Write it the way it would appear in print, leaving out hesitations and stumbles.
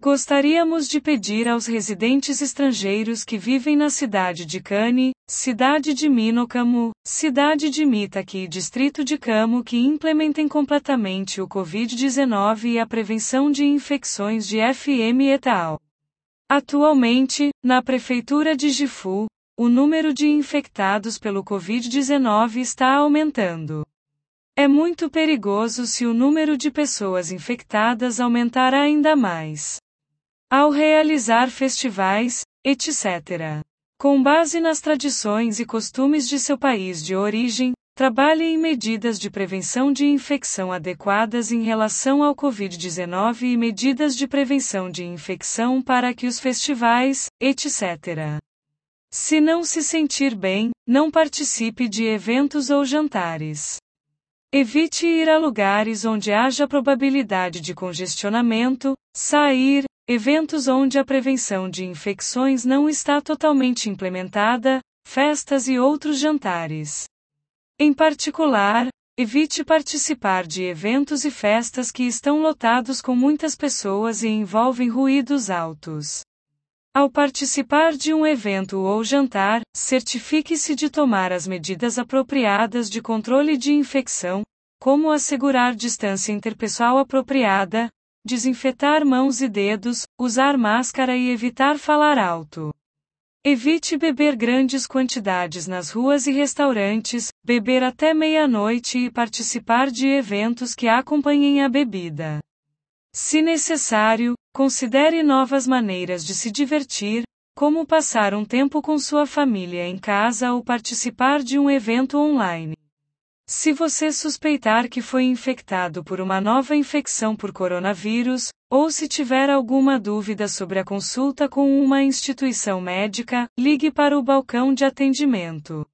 Gostaríamos de pedir aos residentes estrangeiros que vivem na cidade de Cane, cidade de Minocamo, cidade de Mitaki e distrito de Camo que implementem completamente o Covid-19 e a prevenção de infecções de FM et al. Atualmente, na prefeitura de Gifu, o número de infectados pelo Covid-19 está aumentando. É muito perigoso se o número de pessoas infectadas aumentar ainda mais. Ao realizar festivais, etc. Com base nas tradições e costumes de seu país de origem, trabalhe em medidas de prevenção de infecção adequadas em relação ao Covid-19 e medidas de prevenção de infecção para que os festivais, etc. Se não se sentir bem, não participe de eventos ou jantares. Evite ir a lugares onde haja probabilidade de congestionamento, sair, eventos onde a prevenção de infecções não está totalmente implementada, festas e outros jantares. Em particular, evite participar de eventos e festas que estão lotados com muitas pessoas e envolvem ruídos altos. Ao participar de um evento ou jantar, certifique-se de tomar as medidas apropriadas de controle de infecção, como assegurar distância interpessoal apropriada, desinfetar mãos e dedos, usar máscara e evitar falar alto. Evite beber grandes quantidades nas ruas e restaurantes, beber até meia-noite e participar de eventos que acompanhem a bebida. Se necessário, considere novas maneiras de se divertir, como passar um tempo com sua família em casa ou participar de um evento online. Se você suspeitar que foi infectado por uma nova infecção por coronavírus, ou se tiver alguma dúvida sobre a consulta com uma instituição médica, ligue para o balcão de atendimento.